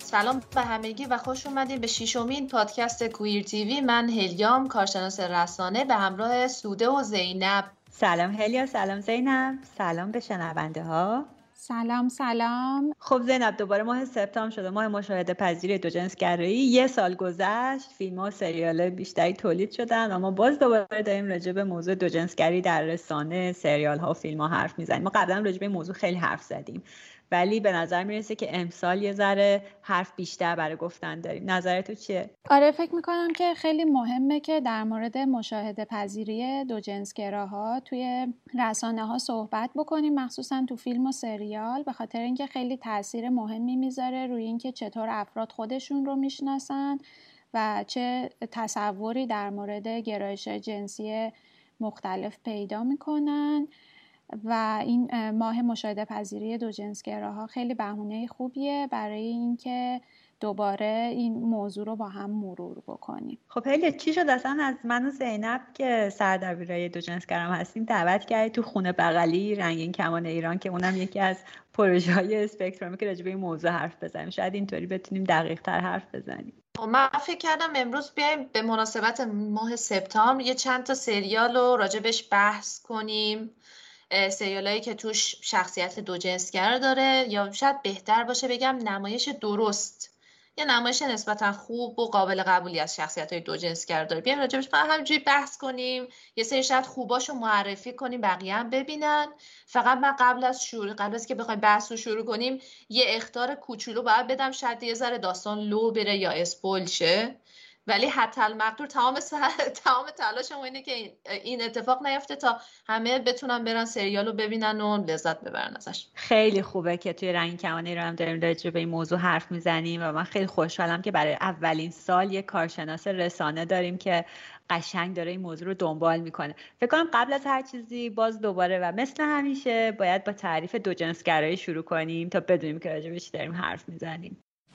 سلام به همگی و خوش اومدین به ششمین پادکست کویر تیوی. من هلیام، کارشناس رسانه، به همراه سوده و زینب. سلام هلیا، سلام زینب، سلام به شنونده ها. سلام. خب زینب، دوباره ماه سپتامبر شده، ماه مشاهده پذیری دوجنسگرایی. یه سال گذشت، فیلم و سریال بیشتری تولید شدن، اما باز دوباره داریم راجع به موضوع دوجنسگری در رسانه، سریال ها و فیلم ها حرف میزنیم. ما قبلا راجع به این موضوع خیلی حرف زدیم، ولی به نظر میرسه که امسال یه ذره حرف بیشتر برای گفتن داریم. نظر تو چیه؟ آره، فکر میکنم که خیلی مهمه که در مورد مشاهده پذیری دوجنسگراها توی رسانه ها صحبت بکنیم، مخصوصا تو فیلم و سریال، به خاطر اینکه خیلی تاثیر مهمی میذاره روی اینکه چطور افراد خودشون رو میشناسن و چه تصوری در مورد گرایش جنسی مختلف پیدا میکنن. و این ماه مشاهده پذیری دوجنسگراها خیلی بهونه خوبیه برای اینکه دوباره این موضوع رو با هم مرور بکنیم. خب هلی، چی شد اصلا از من و زینب که سردبیرای دوجنسگرام هستیم دعوت کردی تو خونه بغلی رنگین کمان ایران، که اونم یکی از پروژه‌های اسپکترومه که راجع به این موضوع حرف بزنیم؟ شاید اینطوری بتونیم دقیق تر حرف بزنیم. من فکر کردم امروز بیایم به مناسبت ماه سپتامبر یه چند تا سریال رو راجبش بحث کنیم، سریالایی که توش شخصیت دوجنسگر داره، یا شاید بهتر باشه بگم نمایش درست، یه نمایش نسبتا خوب و قابل قبولی از شخصیت‌های دوجنسگر داره. بیایم راجبش همینجوری بحث کنیم، یه سری شاید خوباشو معرفی کنیم، بقیه هم ببینن. فقط من قبل از که بخوایم بحث رو شروع کنیم یه اخطار کوچولو باید بدم، شاید یه ذره داستان لو بره یا اسپویل شه، ولی حتی المقدور تمام تلاشم اینه که این اتفاق نیفته تا همه بتونن برن سریال رو ببینن و لذت ببرن ازش. خیلی خوبه که توی رنگین کمان ایران هم داریم راجع به این موضوع حرف میزنیم و من خیلی خوشحالم که برای اولین سال یه کارشناس رسانه داریم که قشنگ داره این موضوع رو دنبال میکنه. فکر کنم قبل از هر چیزی باز دوباره و مثل همیشه باید با تعریف دوجنسگرایی شروع کنیم تا بدونیم که راجع به چی داریم حرف میزنیم.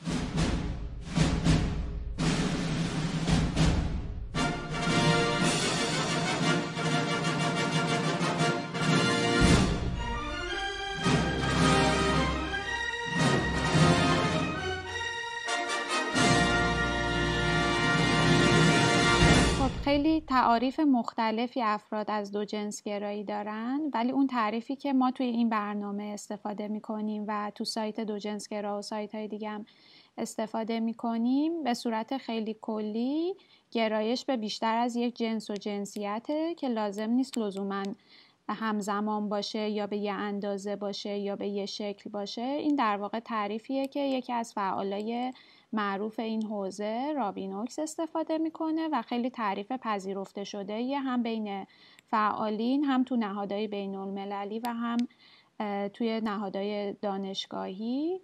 خیلی تعاریف مختلفی افراد از دوجنسگرایی دارن، ولی اون تعریفی که ما توی این برنامه استفاده میکنیم و تو سایت دوجنسگرا و سایت های دیگه هم استفاده میکنیم به صورت خیلی کلی گرایش به بیشتر از یک جنس و جنسیته که لازم نیست لزوماً همزمان باشه یا به یه اندازه باشه یا به یه شکل باشه. این در واقع تعریفیه که یکی از فعالای معروف این حوزه رابینوکس استفاده میکنه و خیلی تعریف پذیرفته شده یه، هم بین فعالین، هم تو نهادهای بین المللی و هم توی نهادهای دانشگاهی.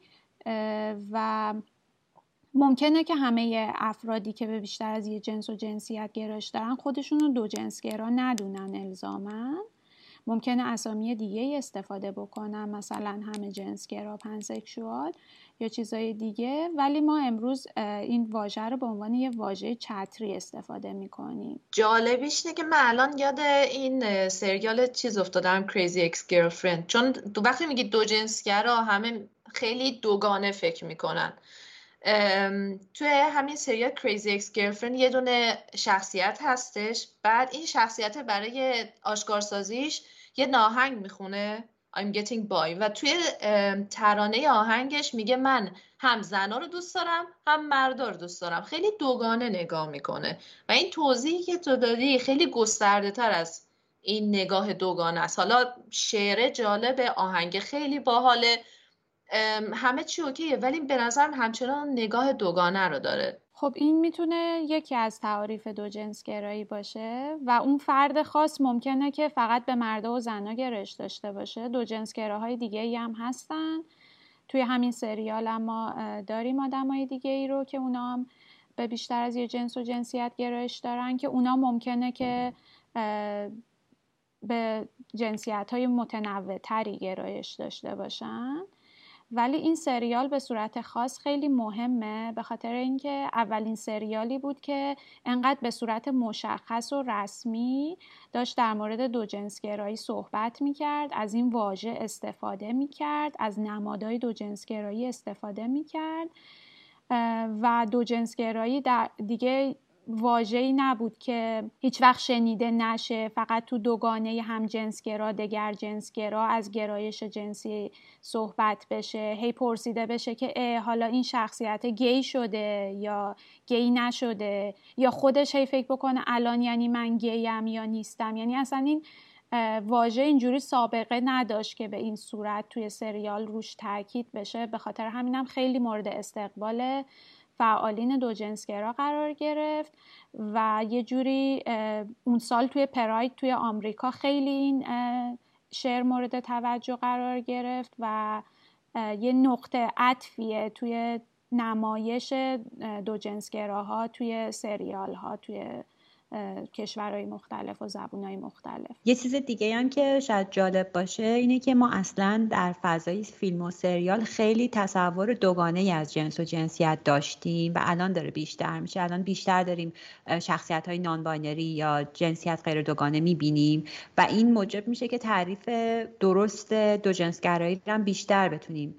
و ممکنه که همه افرادی که به بیشتر از یه جنس و جنسیت گرایش دارن خودشون رو دوجنسگرا ندونن الزاماً. ممکنه اسامی دیگه استفاده بکنن، مثلا همه جنسگرا، پنسکشوال یا چیزای دیگه، ولی ما امروز این واژه رو به عنوان یه واژه چتری استفاده میکنیم. جالبیش اینه که من الان یاد این سریال چیز افتادم، کریزی اکس گرلفرند، چون وقتی میگی دوجنسگرا همه خیلی دوگانه فکر میکنن. توی همین سریال کریزی اکس گرلفرند یه دونه شخصیت هستش، بعد این شخصیت برای آشکارسازیش یه ناهنگ میخونه I'm getting by و توی ترانه آهنگش میگه من هم زنا رو دوست دارم هم مردا رو دوست دارم. خیلی دوگانه نگاه میکنه و این توضیحی که تو دادی خیلی گسترده تر از این نگاه دوگانه است. حالا شعر جالب، آهنگ خیلی باحاله، همه چی اوکیه، ولی به نظرم همچنان نگاه دوگانه رو داره. خب این میتونه یکی از تعاریف دوجنسگرایی باشه و اون فرد خاص ممکنه که فقط به مردا و زنا گرایش داشته باشه. دوجنسگراهای دیگه‌ای هم هستن توی همین سریال، اما داریم آدمای دیگه‌ای رو که اونا هم به بیشتر از یه جنس و جنسیت گرایش دارن که اونا ممکنه که به جنسیت‌های متنوع‌تری گرایش داشته باشن. ولی این سریال به صورت خاص خیلی مهمه به خاطر اینکه اولین سریالی بود که انقدر به صورت مشخص و رسمی داشت در مورد دوجنسگرایی صحبت میکرد، از این واژه استفاده میکرد، از نمادهای دوجنسگرایی استفاده میکرد و دوجنسگرایی دیگه واژه‌ای نبود که هیچ وقت شنیده نشه، فقط تو دوگانه همجنسگرا، دگرجنسگرا از گرایش جنسی صحبت بشه، هی پرسیده بشه که حالا این شخصیت گی شده یا گی نشده، یا خودش هی فکر بکنه الان یعنی من گیم یا نیستم. یعنی اصلا این واژه اینجوری سابقه نداشت که به این صورت توی سریال روش تاکید بشه. به خاطر همینم خیلی مورد استقبال فعالین دوجنسگرا قرار گرفت و یه جوری اون سال توی پراید توی آمریکا خیلی این شعر مورد توجه قرار گرفت و یه نقطه عطفیه توی نمایش دوجنسگراها توی سریال ها توی کشورهای مختلف و زبونهای مختلف. یه چیز دیگه هم که شاید جالب باشه اینه که ما اصلا در فضای فیلم و سریال خیلی تصور دوگانه از جنس و جنسیت داشتیم و الان داره بیشتر میشه. الان بیشتر داریم شخصیت های نان باینری یا جنسیت غیر دوگانه میبینیم و این موجب میشه که تعریف درست دوجنسگرایی رو هم بیشتر بتونیم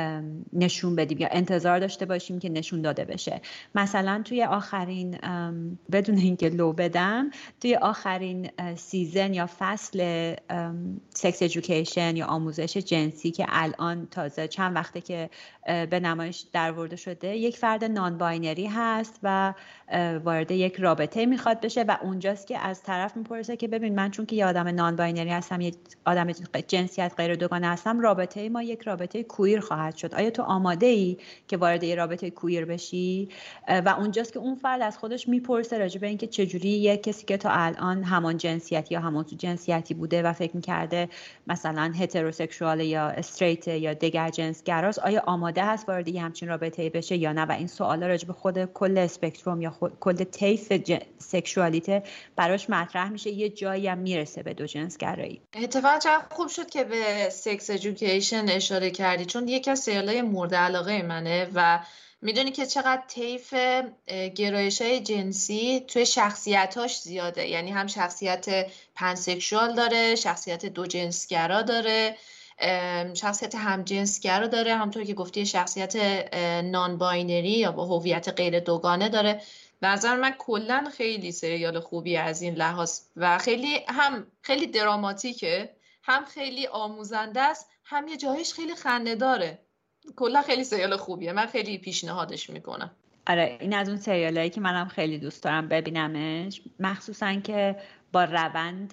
نشون بدیم یا انتظار داشته باشیم که نشون داده بشه. مثلا توی آخرین بدون اینکه لو بدم، توی آخرین سیزن یا فصل سکس ادویکیشن یا آموزش جنسی که الان تازه چند وقته که به نمایش درآورده شده، یک فرد نان باینری هست و وارد یک رابطه میخواد بشه و اونجاست که از طرف میپرسه که ببین من چون که یه آدم نان باینری هستم، یه آدم جنسیت غیر دوگانه هستم، رابطه ما یک رابطه کویر خواهد شد، آیا تو آماده ای که وارد یه رابطه کویر بشی؟ و اونجاست که اون فرد از خودش میپرسه راجع به اینکه چجوری یک کسی که تا الان همان جنسیتی یا همان جنسیتی بوده و فکر میکرده مثلا هتروسکسوال یا استریت یا دیگر جنسگراست، آیا آماده هست وارد یه همچین رابطه‌ای بشه یا نه؟ و این سوالا راجع به خود کل اسپکتروم یا کل طیف سکشوالیته براش مطرح میشه، یه جایی هم میرسه به دوجنسگرایی. اتفاقا چقدر خوب شد که به سکس ادویکیشن اشاره کردی، چون یکی از سریال‌های مورد علاقه منه و میدونی که چقدر طیف گرایش‌های جنسی توی شخصیتاش زیاده. یعنی هم شخصیت پنسکشوال داره، شخصیت دوجنسگرا داره، شخصیت همجنسگرا داره، همونطور که گفتی شخصیت نان باینری یا با هویت غیر دوگانه داره. به نظر من کلا خیلی سریال خوبی از این لحاظ و خیلی دراماتیکه، هم خیلی آموزنده است، هم یه جایش خیلی خنده‌داره. کلا خیلی سریال خوبیه، من خیلی پیشنهادش میکنم. آره این از اون سریالایی که منم خیلی دوست دارم ببینمش، مخصوصا که با روند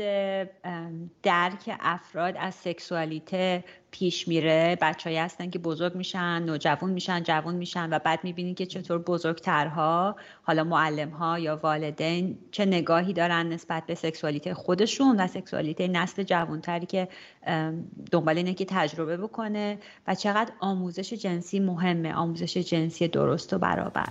درک افراد از سکسوالیته پیش میره. بچه‌ای هستن که بزرگ میشن، نوجوان میشن، جوان میشن و بعد میبینین که چطور بزرگترها، حالا معلم‌ها یا والدین، چه نگاهی دارن نسبت به سکسوالیته خودشون و سکسوالیته نسل جوانتری که دنبال اینه که تجربه بکنه و چقدر آموزش جنسی مهمه، آموزش جنسی درست و برابر.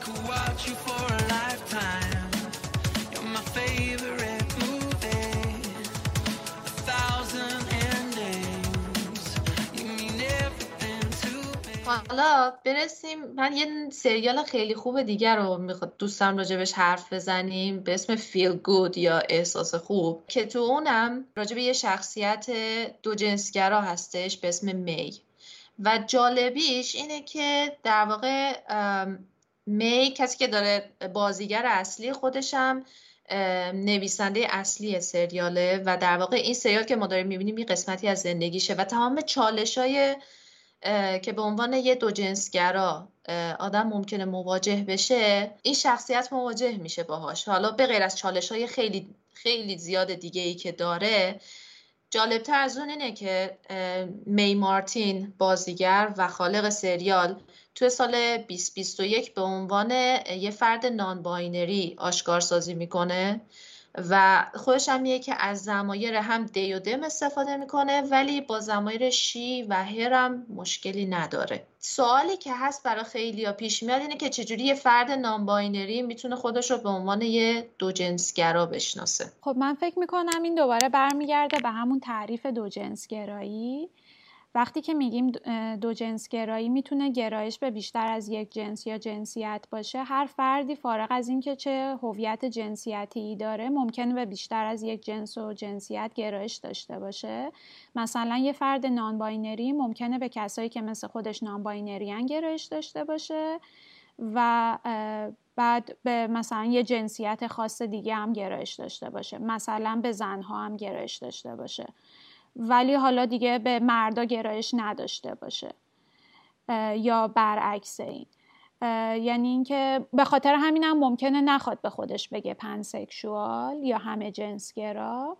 حالا برسیم، من یه سریال خیلی خوب دیگر رو دوستم راجبش حرف بزنیم به اسم فیل گود یا احساس خوب، که تو اونم راجب یه شخصیت دوجنسگرا هستش به اسم می و جالبیش اینه که در واقع می کسی که داره بازیگر اصلی خودشم نویسنده اصلی سریاله و در واقع این سریال که ما داریم میبینیم یه قسمتی از زندگیشه و تمام چالش‌های که به عنوان یه دوجنسگرا آدم ممکنه مواجه بشه، این شخصیت مواجه میشه باهاش. حالا به غیر از چالش‌های خیلی خیلی زیاد دیگه‌ای که داره، جالبتر از اون اینه که می مارتین بازیگر و خالق سریال توی سال 2021 به عنوان یه فرد نان باینری آشکارسازی میکنه و خودش هم میگه که از ضمایر هم دی و دم استفاده میکنه ولی با ضمایر شی و هر هم مشکلی نداره. سوالی که هست برای خیلیا پیش میاد اینه که چجوری یه فرد نان باینری میتونه خودش رو به عنوان یه دوجنسگرا بشناسه. خب من فکر میکنم این دوباره برمیگرده به همون تعریف دوجنسگرایی. وقتی که میگیم دوجنسگرایی میتونه گرایش به بیشتر از یک جنس یا جنسیت باشه. هر فردی فارغ از این که چه هویت جنسیتی داره ممکنه به بیشتر از یک جنس و جنسیت گرایش داشته باشه. مثلا یه فرد نان باینری ممکنه به کسایی که مثل خودش نان باینری ان گرایش داشته باشه و بعد به مثلا یه جنسیت خاص دیگه هم گرایش داشته باشه، مثلا به زنها هم گرایش داشته باشه ولی حالا دیگه به مردا گرایش نداشته باشه یا برعکس این. یعنی اینکه به خاطر همین هم ممکنه نخواد به خودش بگه پنسکشوال یا همه جنسگرا.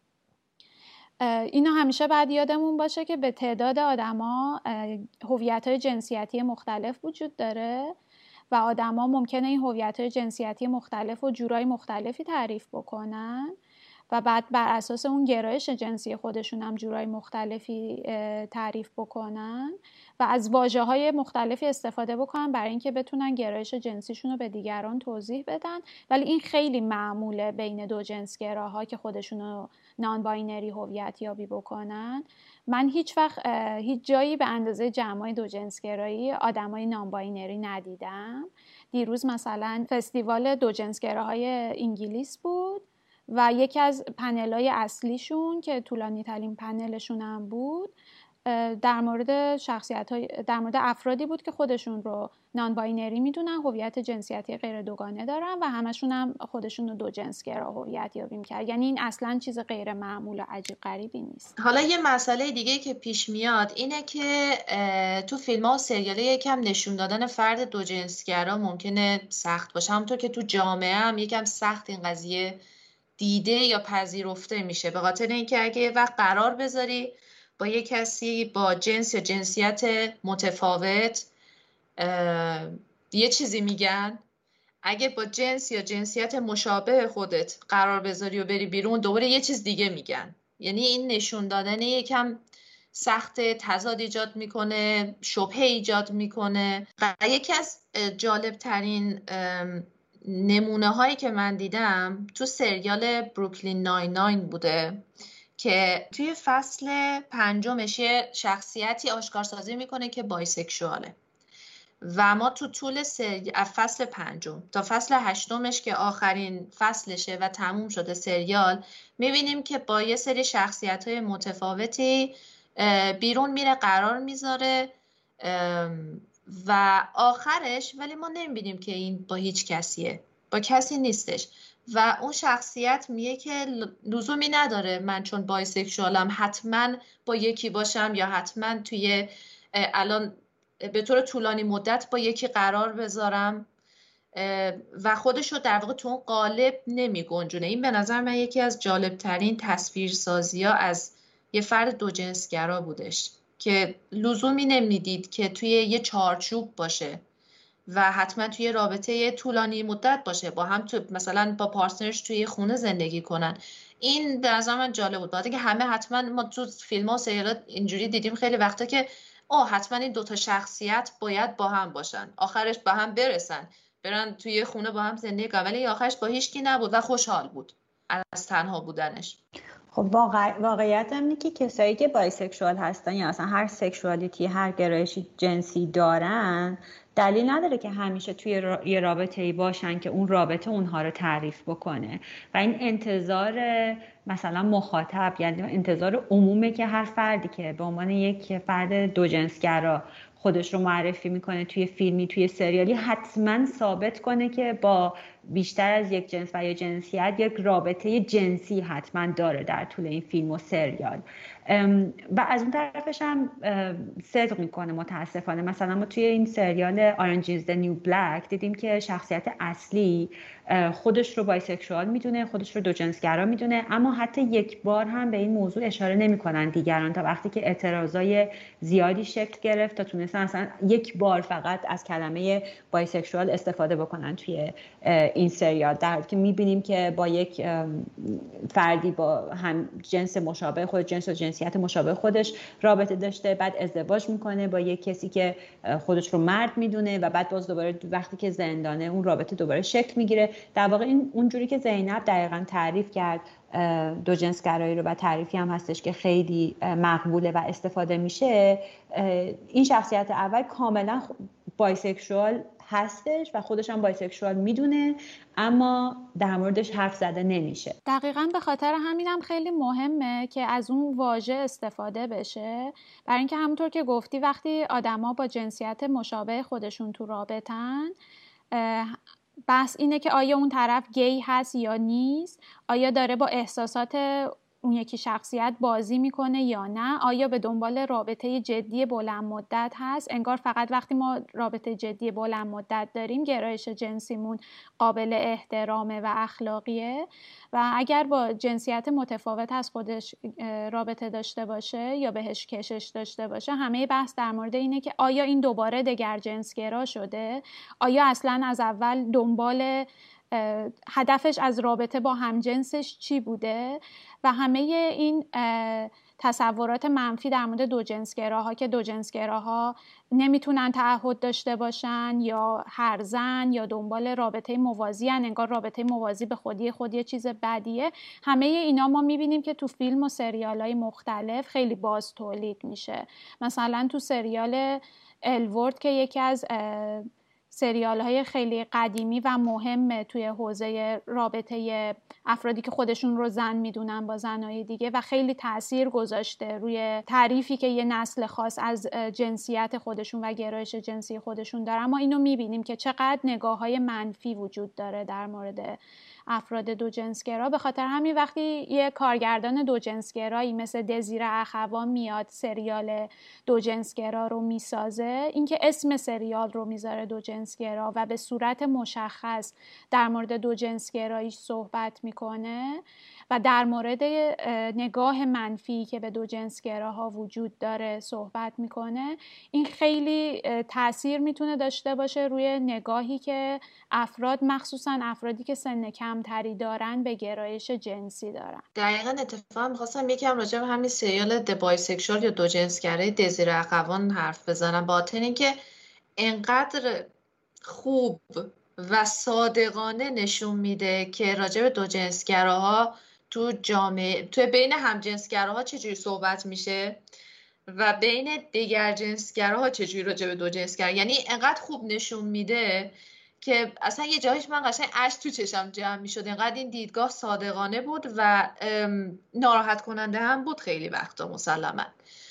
اینو همیشه باید یادمون باشه که به تعداد آدما هویت‌های جنسیتی مختلف وجود داره و آدما ممکنه این هویت‌های جنسیتی مختلف و جورای مختلفی تعریف بکنن و بعد بر اساس اون گرایش جنسی خودشون هم جورای مختلفی تعریف بکنن و از واژه‌های مختلفی استفاده بکنن برای اینکه بتونن گرایش جنسیشون رو به دیگران توضیح بدن. ولی این خیلی معموله بین دو جنسگراها که خودشون رو نان باینری هویت یابی بکنن. من هیچ وقت هیچ جایی به اندازه جمعای دو جنسگرایی آدمای نان باینری ندیدم. دیروز مثلا فستیوال دو جنسگراهای انگلیس بود و یکی از پنل‌های اصلیشون که طولانی ترین پنلشون هم بود در مورد در مورد افرادی بود که خودشون رو نان باینری میدونن، هویت جنسیتی غیر دوگانه دارن و همشون هم خودشون رو دو جنسگرا هویت یابی می‌کردن. یعنی این اصلا چیز غیر معمول و عجیب غریبی نیست. حالا یه مسئله دیگه که پیش میاد اینه که تو فیلم‌ها و سریال‌ها یکم نشون دادن فرد دو جنسگرا ممکنه سخت باشه، همونطور که تو جامعه هم یکم سخت این قضیه دیده یا پذیرفته میشه، به خاطر اینکه اگه یه وقت قرار بذاری با یه کسی با جنس یا جنسیت متفاوت یه چیزی میگن، اگه با جنس یا جنسیت مشابه خودت قرار بذاری و بری بیرون دوباره یه چیز دیگه میگن. یعنی این نشون دادن یکم سخت، تضاد ایجاد میکنه، شبهه ایجاد میکنه. یکی از جالب ترین نمونه هایی که من دیدم تو سریال بروکلین 99 بوده که توی فصل 5 یه شخصیتی آشکارسازی میکنه که بایسکشواله و ما تو طول فصل 5 تا فصل 8 که آخرین فصلشه و تموم شده سریال میبینیم که با یه سری شخصیت‌های متفاوتی بیرون میره، قرار میذاره و آخرش ولی ما نمیبینیم که این با هیچ کسیه، با کسی نیستش و اون شخصیت میگه که لزومی نداره من چون بایسکشوالم حتما با یکی باشم یا حتما توی الان به طور طولانی مدت با یکی قرار بذارم و خودش رو در واقع تو اون قالب نمی گنجونه. این به نظر من یکی از جالبترین تصویرسازی ها از یه فرد دو جنسگرا بودش که لزومی نمیدید که توی یه چارچوب باشه و حتما توی رابطه طولانی مدت باشه، با هم تو مثلا با پارتنرش توی خونه زندگی کنن. این به نظر من جالب بود. بعد که همه حتما ما تو فیلم ها و سریالات اینجوری دیدیم خیلی وقتا که حتما این دوتا شخصیت باید با هم باشن، آخرش با هم برسن، برن توی خونه با هم زندگی کنن، ولی آخرش با هیچکی نبود و خوشحال بود از تنها بودنش. خب واقعیت هم اینه که کسایی که بایسکشوال هستن یا اصلا هر سکشوالیتی، هر گرایشی جنسی دارن، دلیل نداره که همیشه توی یه رابطه‌ای باشن که اون رابطه اونها رو تعریف بکنه و این انتظار مثلا مخاطب، یعنی انتظار عمومه که هر فردی که به عنوان یک فرد دو جنسگرا خودش رو معرفی میکنه توی فیلمی، توی سریالی، حتما ثابت کنه که با بیشتر از یک جنس و یا جنسیت یک رابطه جنسی حتما داره در طول این فیلم و سریال. و از اون طرفش هم صدق میکنه متاسفانه. مثلا ما توی این سریال Orange is the New Black دیدیم که شخصیت اصلی خودش رو بایسکشوال میدونه، خودش رو دو جنسگرا میدونه، اما حتی یک بار هم به این موضوع اشاره نمیکنن دیگران تا وقتی که اعتراضای زیادی شکل گرفت تا تونستن اصلا یک بار فقط از کلمه بایسکشوال استفاده بکنن توی این سریال، در حالی که میبینیم که با یک فردی با هم جنس مشابه خود، جنس و جنسیت مشابه خودش رابطه داشته، بعد ازدواج میکنه با یک کسی که خودش رو مرد میدونه و بعد باز دوباره وقتی که زندانه اون رابطه دوباره شکل میگیره. در واقع این اونجوری که زینب دقیقاً تعریف کرد دو جنسگرایی رو و تعریفی هم هستش که خیلی مقبوله و استفاده میشه، این شخصیت اول کاملا بایسکشوال هستش و خودش هم بایسکشوال میدونه، اما در موردش حرف زده نمیشه. دقیقاً به خاطر همینم خیلی مهمه که از اون واژه استفاده بشه، برای اینکه همونطور که گفتی وقتی آدما با جنسیت مشابه خودشون تو رابطن، بحث اینه که آیا اون طرف گی هست یا نیست، آیا داره با احساسات اون یکی شخصیت بازی میکنه یا نه، آیا به دنبال رابطه جدی بلند مدت هست. انگار فقط وقتی ما رابطه جدی بلند مدت داریم گرایش جنسیمون قابل احترامه و اخلاقیه، و اگر با جنسیت متفاوت از خودش رابطه داشته باشه یا بهش کشش داشته باشه، همه بحث در مورد اینه که آیا این دوباره دگر جنسگرا شده، آیا اصلا از اول دنبال هدفش از رابطه با همجنسش چی بوده. و همه این تصورات منفی در مورد دوجنسگراها که دوجنسگراها نمیتونن تعهد داشته باشن یا هرزن یا دنبال رابطه موازی هن، انگار رابطه موازی به خودی یه چیز بدیه، همه اینا ما میبینیم که تو فیلم و سریال های مختلف خیلی باز تولید میشه. مثلا تو سریال الورد که یکی از سریال های خیلی قدیمی و مهمه توی حوزه رابطه افرادی که خودشون رو زن میدونن با زنهای دیگه و خیلی تأثیر گذاشته روی تعریفی که یه نسل خاص از جنسیت خودشون و گرایش جنسی خودشون داره. اما اینو میبینیم که چقدر نگاه های منفی وجود داره در مورد افراد دوجنسگرا. به خاطر همین وقتی یه کارگردان دوجنسگرایی مثل دزیر اخوان میاد سریال دوجنسگرا رو میسازه، اینکه اسم سریال رو میذاره دوجنسگرا و به صورت مشخص در مورد دوجنسگرایی صحبت میکنه و در مورد نگاه منفی که به دوجنسگراها وجود داره صحبت میکنه، این خیلی تأثیر میتونه داشته باشه روی نگاهی که افراد، مخصوصا افرادی که سن کمتری دارن، به گرایش جنسی دارن. دقیقاً اتفاقا میخواستم یکم راجع به همین سریال د بایسکشوال یا دوجنسگرای دزیر اخوان حرف بزنم، با اینکه انقدر خوب و صادقانه نشون میده که راجع به دوجنسگراها تو جامعه، تو بین همجنسگراها چجوری صحبت میشه و بین دیگر جنسگراها چجوری راجع به دوجنسگرا، یعنی انقدر خوب نشون میده که اصلا یه جایش من قشنگ اشک تو چشم جمع میشد. انقدر این دیدگاه صادقانه بود و ناراحت کننده هم بود خیلی وقتا مسلما.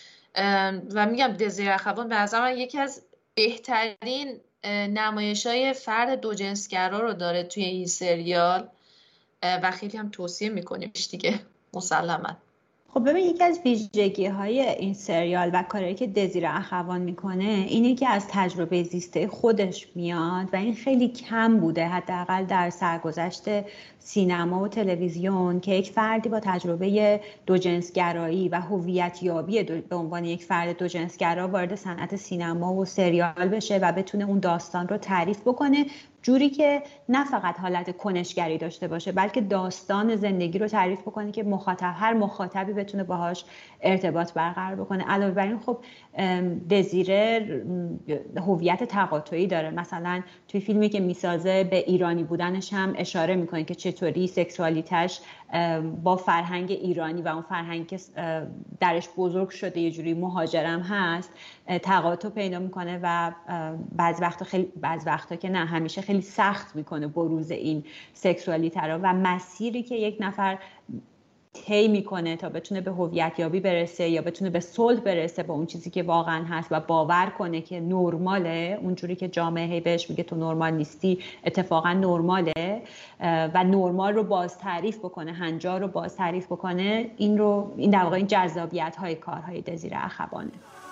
و میگم دزیر اخوان به نظر من یکی از بهترین نمایش‌های فرد دوجنسگرا رو داره توی این سریال و خیلی هم توصیه میکنیمش دیگه مسلما. خب ببین، یکی از ویژگی‌های این سریال و کاری که دزیر اخوان میکنه اینه که از تجربه زیسته خودش میاد و این خیلی کم بوده حداقل در سرگذشت سینما و تلویزیون که یک فردی با تجربه دوجنسگرایی و هویت یابی به عنوان یک فرد دوجنسگرا وارد صنعت سینما و سریال بشه و بتونه اون داستان رو تعریف بکنه جوری که نه فقط حالت کنشگری داشته باشه بلکه داستان زندگی رو تعریف بکنه که هر مخاطبی بتونه باهاش ارتباط برقرار بکنه. علاوه بر این خب دزیره هویت تقاطعی داره، مثلا توی فیلمی که میسازه به ایرانی بودنش هم اشاره میکنه که چطوری سکسوالیتش با فرهنگ ایرانی و اون فرهنگ که درش بزرگ شده یه جوری مهاجرم هست تقاطع پیدا میکنه و بعض وقتا که نه همیشه خیلی سخت میکنه بروز این سکسوالیته رو و مسیری که یک نفر طی میکنه تا بتونه به هویت یابی برسه یا بتونه به صلح برسه با اون چیزی که واقعا هست و باور کنه که نرماله، اونجوری که جامعه بهش میگه تو نرمال نیستی اتفاقا نرماله و نرمال رو باز تعریف بکنه، هنجار رو باز تعریف بکنه، این در واقع این جذابیت های کارهای دزیر اخوانه.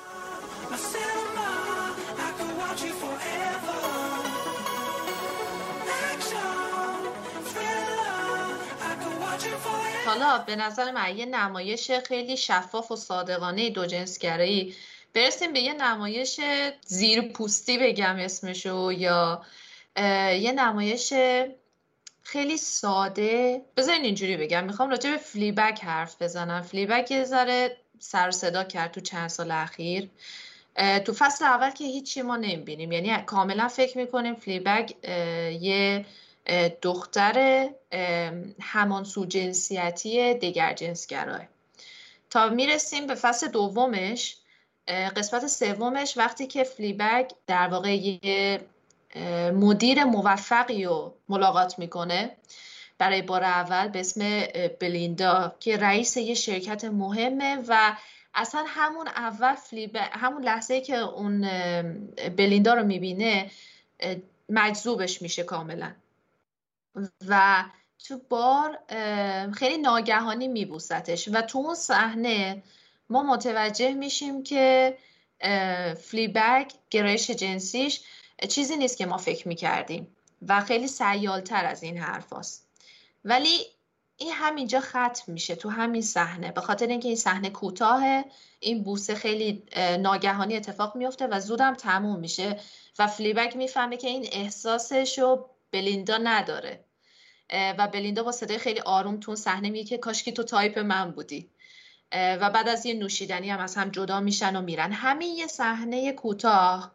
حالا به نظر من یه نمایش خیلی شفاف و صادقانه دوجنسگرایی برسیم به یه نمایش زیرپوستی بگم اسمشو، یا یه نمایش خیلی ساده. بذارین اینجوری بگم، میخوام راجع به فلیبگ حرف بزنم. فلیبگ یه ذره سر و صدا کرد تو چند سال اخیر. تو فصل اول که هیچی ما نمیبینیم، یعنی کاملا فکر میکنیم فلیبگ یه دختر همانسو جنسیتی دیگر جنسگراه، تا میرسیم به فصل دومش قسمت سومش وقتی که فلیبگ در واقع یه مدیر موفقی رو ملاقات میکنه برای بار اول به اسم بلیندا که رئیس یه شرکت مهمه و اصلا همون اول همون لحظه که اون بلیندا رو میبینه مجذوبش میشه کاملا و تو بار خیلی ناگهانی میبوستش و تو اون صحنه ما متوجه میشیم که فلیبگ گرایش جنسیش چیزی نیست که ما فکر میکردیم و خیلی سیالتر از این حرف هست. ولی این همینجا ختم میشه تو همین صحنه، به خاطر اینکه این صحنه کوتاهه، این بوسه خیلی ناگهانی اتفاق میفته و زودم تموم میشه و فلیبگ میفهمه که این احساسشو بلیندا نداره و بلیندا با صدای خیلی آروم تو صحنه میگه که کاشکی تو تایپ من بودی و بعد از یه نوشیدنی هم از هم جدا میشن و میرن. همین یه صحنه کوتاه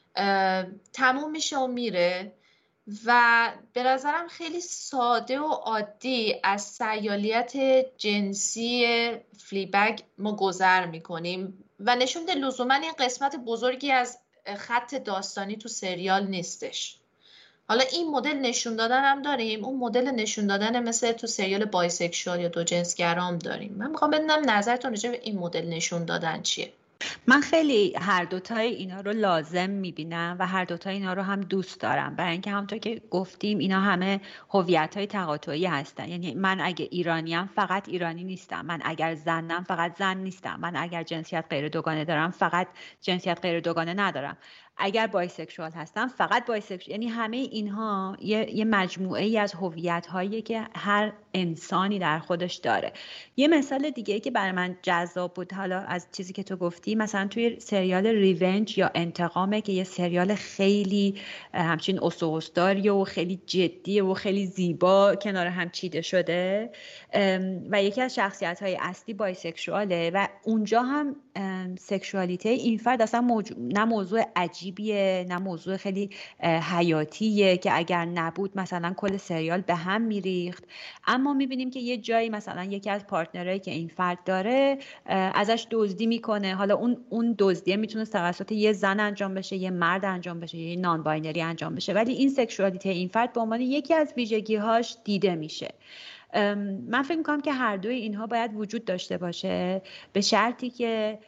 تموم میشه و میره و به نظرم خیلی ساده و عادی از سیالیت جنسی فلیبگ ما گذر میکنیم و نشون میده لزوما این قسمت بزرگی از خط داستانی تو سریال نیستش. حالا این مدل نشون دادن هم داریم، اون مدل نشون دادن مثل تو سریال بایسکشوال یا دو جنسگرام داریم. من میخوام بدونم نظرتون راجع به این مدل نشون دادن چیه؟ من خیلی هر دوتای اینا رو لازم میبینم و هر دوتای اینا رو هم دوست دارم، برای اینکه همونطور که گفتیم اینا همه هویت‌های تقاطعی هستن. یعنی من اگه ایرانیم فقط ایرانی نیستم، من اگر زنم فقط زن نیستم، من اگر جنسیت غیر دوگانه دارم فقط جنسیت غیر دوگانه ندارم، اگر بایسکشوال هستم فقط بایسکشوال. یعنی همه اینها یه مجموعه ای از هویت‌هایی که هر انسانی در خودش داره. یه مثال دیگه که برای من جذاب بود حالا از چیزی که تو گفتی، مثلا توی سریال ریونج یا انتقامه که یه سریال خیلی همچین اسطوره‌داری و خیلی جدی و خیلی زیبا کنار هم چیده شده و یکی از شخصیت‌های اصلی بایسکشواله و اونجا هم سکشوالیته این فرد اصلا نه موضوع عجیبیه نه موضوع خیلی حیاتیه که اگر نبود مثلا کل سریال به هم میریخت، اما میبینیم که یه جایی مثلا یکی از پارتنرایی که این فرد داره ازش دزدی میکنه. حالا اون دزدیه میتونه توسط یه زن انجام بشه، یه مرد انجام بشه، یه نان باینری انجام بشه، ولی این سکشوالیته این فرد به عنوان یکی از ویژگی‌هاش دیده میشه. من فکر میکنم که هر دوی اینها باید وجود داشته باشه به شرطی که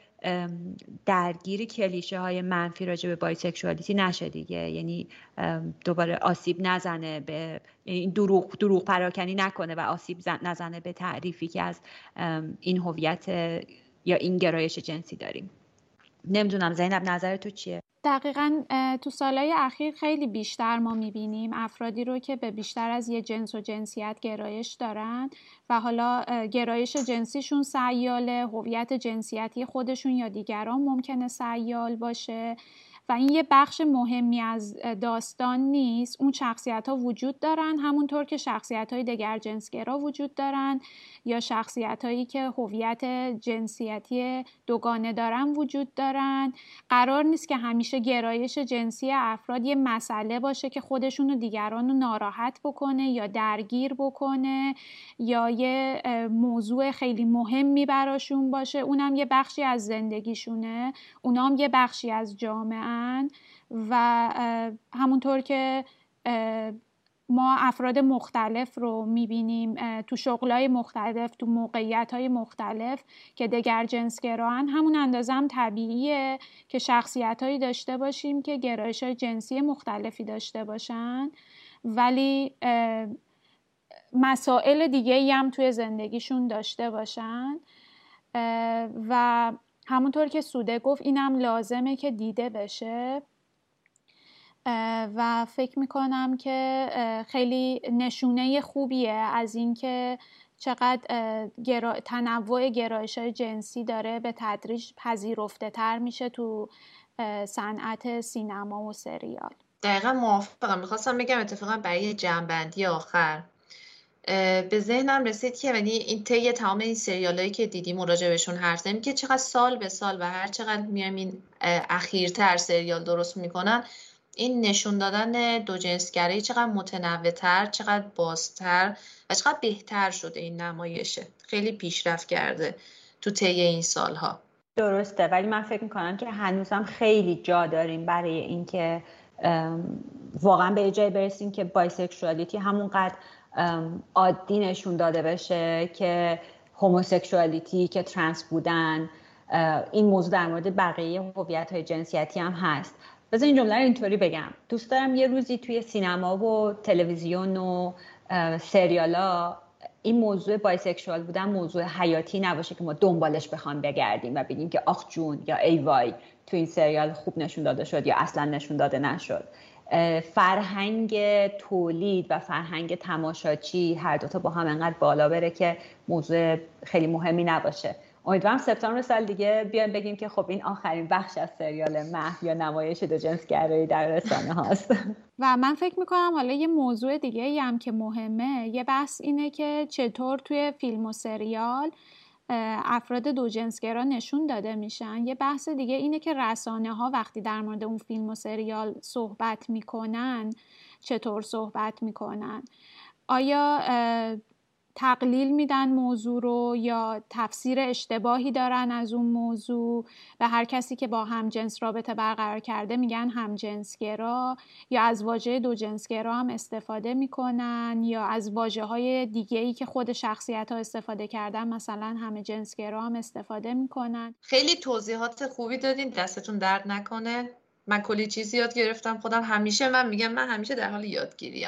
درگیر کلیشه های منفی راجع به بایسکشوالیتی نشه دیگه. یعنی دوباره آسیب نزنه به دروغ پراکنی نکنه و آسیب نزنه به تعریفی که از این هویت یا این گرایش جنسی داریم. نمیدونم زینب نظر تو چیه؟ دقیقاً تو سالهای اخیر خیلی بیشتر ما میبینیم افرادی رو که به بیشتر از یه جنس و جنسیت گرایش دارن و حالا گرایش جنسیشون سیاله، هویت جنسیتی خودشون یا دیگران ممکنه سیال باشه و این یه بخش مهمی از داستان نیست. اون شخصیت ها وجود دارن همونطور که شخصیت های دگر جنسگرا وجود دارن یا شخصیت هایی که هویت جنسیتی دوگانه دارن وجود دارن. قرار نیست که همیشه گرایش جنسی افراد یه مسئله باشه که خودشون و دیگران رو ناراحت بکنه یا درگیر بکنه یا یه موضوع خیلی مهمی براشون باشه. اونم یه بخشی از زندگیشونه، اونام یه بخشی از جامعه و همونطور که ما افراد مختلف رو میبینیم تو شغلای مختلف، تو موقعیت‌های مختلف که دگر جنسگراهن، همون اندازه هم طبیعیه که شخصیت‌هایی داشته باشیم که گرایش‌های جنسی مختلفی داشته باشن ولی مسائل دیگه‌ای هم توی زندگیشون داشته باشن و همونطور که سوده گفت اینم لازمه که دیده بشه و فکر میکنم که خیلی نشونه خوبیه از اینکه چقدر تنوع گرایش‌های جنسی داره به تدریج پذیرفته تر میشه تو صنعت سینما و سریال. دقیقا موافقم. میخواستم بگم اتفاقا برای جمع‌بندی آخر به ذهنم رسید که یعنی این طی تمام این سریالایی که دیدیم و راجع بهشون حرف زدیم که چقدر سال به سال و هر چقدر میایم این اخیرتر سریال درست میکنن، این نشون دادن دو جنسگرایی چقدر متنوع‌تر، چقدر بازتر و چقدر بهتر شده. این نمایشه خیلی پیشرفت کرده تو طی این سالها. درسته، ولی من فکر میکنم که هنوزم خیلی جا داریم برای اینکه واقعا به جای برسیم که بایسکشوالیتی همونقدر عادی نشون داده بشه که هوموسکشوالیتی، که ترنس بودن. این موضوع در مورد بقیه هویت‌های جنسیتی هم هست. بذار این جمله رو اینطوری بگم، دوست دارم یه روزی توی سینما و تلویزیون و سریالا این موضوع بایسکشوال بودن موضوع حیاتی نباشه که ما دنبالش بخوام بگردیم و بگیم که آخ جون یا ای وای تو این سریال خوب نشون داده شد یا اصلا نشون داده نشد. فرهنگ تولید و فرهنگ تماشاچی هر دوتا با هم انقدر بالا بره که موضوع خیلی مهمی نباشه. امیدوارم سپتامبر سال دیگه بیایم بگیم که خب این آخرین بخش از سریال محو یا نمایش دوجنسگرایی در رسانه هاست. و من فکر میکنم حالا یه موضوع دیگه هم که مهمه، یه بحث اینه که چطور توی فیلم و سریال افراد دوجنسگرا نشون داده میشن. یه بحث دیگه اینه که رسانه ها وقتی در مورد اون فیلم و سریال صحبت میکنن چطور صحبت میکنن. آیا تقلیل میدن موضوع رو یا تفسیر اشتباهی دارن از اون موضوع؟ به هر کسی که با همجنس رابطه برقرار کرده میگن همجنسگرا، یا از واژه دوجنسگرا هم استفاده میکنن، یا از واژه‌های دیگه‌ای که خود شخصیت‌ها استفاده کردن مثلا همجنسگرا هم استفاده میکنن. خیلی توضیحات خوبی دادین، دستتون درد نکنه. من کلی چیز یاد گرفتم خودم. من میگم من همیشه در حال یادگیریم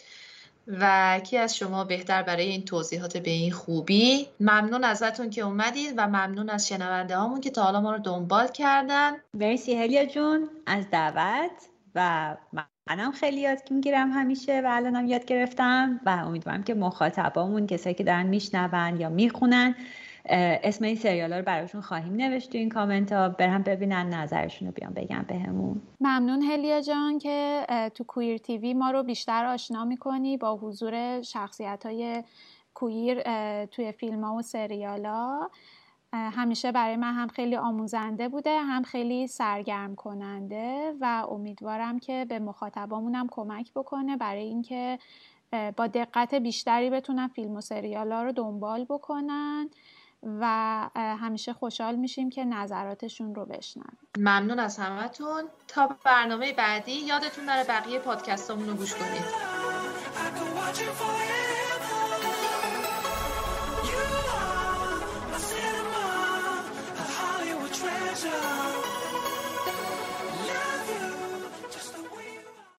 و کی از شما بهتر برای این توضیحات به این خوبی. ممنون ازتون که اومدید و ممنون از شنونده هامون که تا حالا ما رو دنبال کردن. مرسی هلیا جون از دعوت و منم خیلی یاد میگیرم همیشه و الانم یاد گرفتم و امیدوارم که مخاطبامون، کسایی که دارن میشنون یا میخونن، اسم این سریالا رو براشون خواهیم نوشت تو این کامنت ها، برن ببینن نظرشون رو بیان بگن بهمون. ممنون هلیا جان که تو کویر تیوی ما رو بیشتر آشنا میکنی با حضور شخصیت های کویر توی فیلم ها و سریال ها. همیشه برای من هم خیلی آموزنده بوده، هم خیلی سرگرم کننده و امیدوارم که به مخاطبامونم کمک بکنه برای اینکه با دقت بیشتری بتونن فیلم و سریال ها رو دنبال بکنن و همیشه خوشحال میشیم که نظراتشون رو بشنویم. ممنون از همتون. تا برنامه بعدی یادتون نره بقیه پادکستامون رو گوش کنید.